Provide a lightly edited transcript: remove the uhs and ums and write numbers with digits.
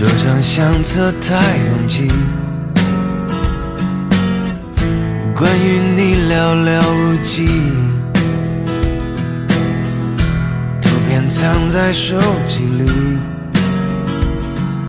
这张相册太拥挤，关于你寥寥无几，图片藏在手机里，